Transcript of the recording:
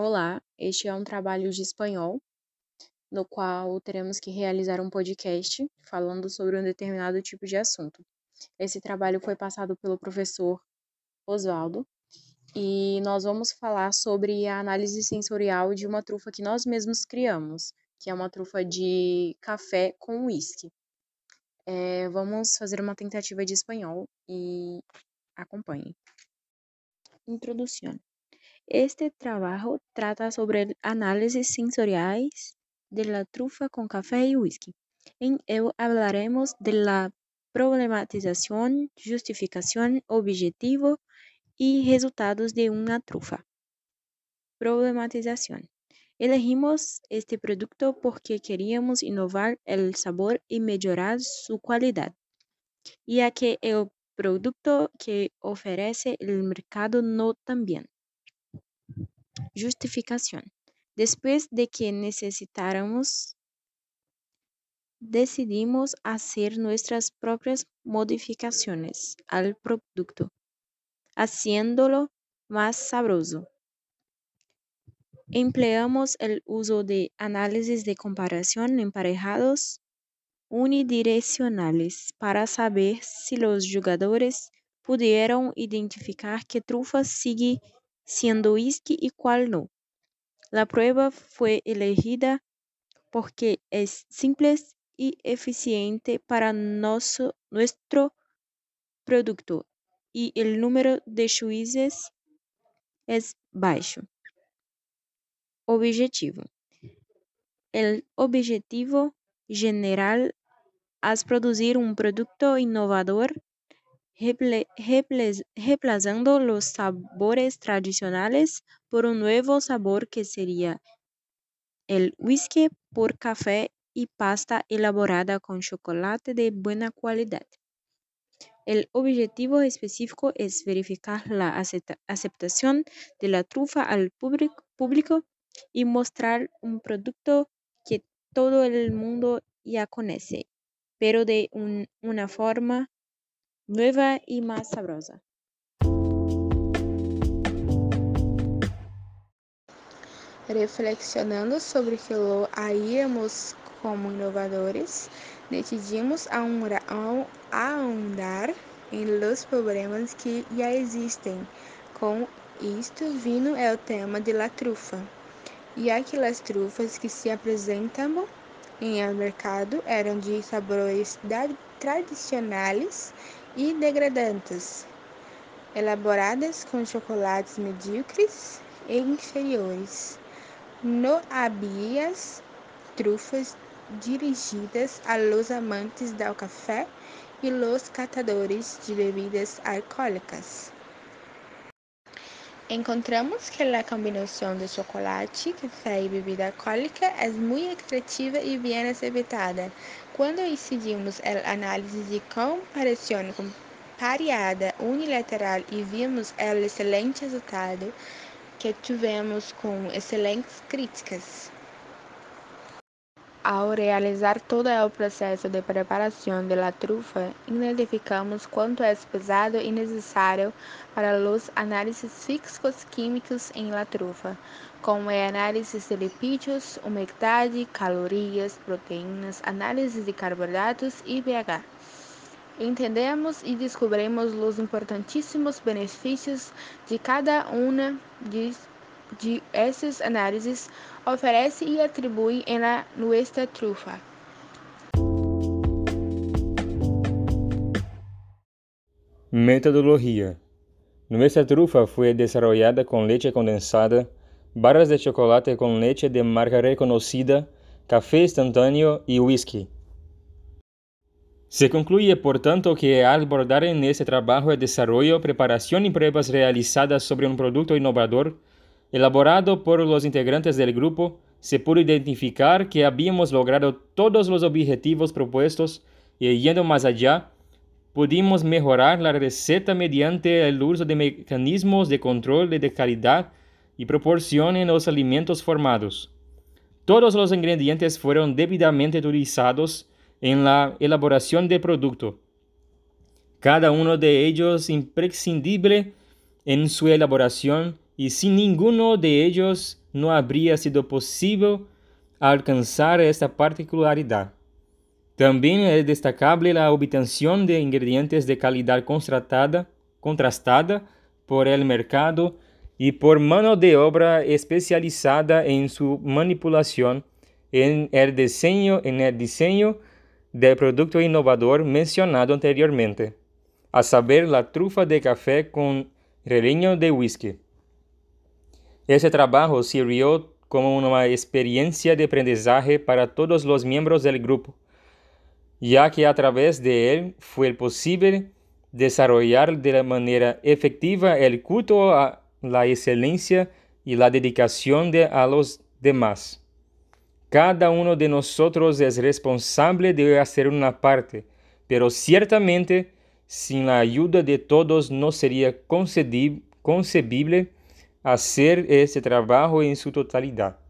Olá, este é um trabalho de espanhol, no qual teremos que realizar um podcast falando sobre um determinado tipo de assunto. Esse trabalho foi passado pelo professor Osvaldo e nós vamos falar sobre a análise sensorial de uma trufa que nós mesmos criamos, que é uma trufa de café com uísque. Vamos fazer uma tentativa de espanhol e acompanhe. Introdução. Este trabajo trata sobre análisis sensoriales de la trufa con café y whisky. En él hablaremos de la problematización, justificación, objetivo y resultados de una trufa. Problematización. Elegimos este producto porque queríamos innovar el sabor y mejorar su calidad, ya que el producto que ofrece el mercado no también. Justificación. Después de que necesitáramos, decidimos hacer nuestras propias modificaciones al producto, haciéndolo más sabroso. Empleamos el uso de análisis de comparación emparejados unidireccionales para saber si los jugadores pudieron identificar qué trufa sigue siendo whisky y cuál no. La prueba fue elegida porque es simple y eficiente para nuestro producto y el número de juízes es bajo. Objetivo. El objetivo general es producir un producto innovador reemplazando los sabores tradicionales por un nuevo sabor que sería el whisky por café y pasta elaborada con chocolate de buena calidad. El objetivo específico es verificar la aceptación de la trufa al público y mostrar un producto que todo el mundo ya conoce, pero de una forma nueva y más sabrosa. Reflexionando sobre que lo haríamos como inovadores, decidimos ahondar en los problemas que ya existen. Com isto vino el tema de la trufa, ya que las trufas que se apresentaban en el mercado eran de sabores tradicionales y degradantes, elaboradas com chocolates medíocres e inferiores. No había trufas dirigidas a los amantes del café y los catadores de bebidas alcohólicas. Encontramos que la combinación de chocolate, café y bebida alcohólica es muy atractiva y bien aceptada. Cuando decidimos el análisis de comparación comparada unilateral y vimos el excelente resultado que tivemos com excelentes críticas. Ao realizar todo o processo de preparação da trufa, identificamos quanto é pesado e necessário para os análises físicos-químicos em la trufa, como é análise de lipídios, umidade, calorias, proteínas, análise de carboidratos e pH. Entendemos e descobrimos os importantíssimos benefícios de cada uma de essas análises oferece e atribui em nossa trufa. Metodología. Nuestra trufa fue desarrollada con leche condensada, barras de chocolate con leche de marca reconocida, café instantáneo y whisky. Se concluye, por tanto, que al abordar en este trabajo el desarrollo, preparación y pruebas realizadas sobre un producto innovador, elaborado por los integrantes del grupo, se pudo identificar que habíamos logrado todos los objetivos propuestos y, yendo más allá, pudimos mejorar la receta mediante el uso de mecanismos de control de calidad y proporción en los alimentos formados. Todos los ingredientes fueron debidamente utilizados en la elaboración del producto, cada uno de ellos imprescindible en su elaboración y sin ninguno de ellos no habría sido posible alcanzar esta particularidad. También es destacable la obtención de ingredientes de calidad contrastada por el mercado y por mano de obra especializada en su manipulación en el diseño del producto innovador mencionado anteriormente, a saber, la trufa de café con relleño de whisky. Ese trabajo sirvió como una experiencia de aprendizaje para todos los miembros del grupo, ya que a través de él fue posible desarrollar de manera efectiva el culto a la excelencia y la dedicación a los demás. Cada uno de nosotros es responsable de hacer una parte, pero ciertamente sin la ayuda de todos no sería concebible hacer este trabajo en su totalidad.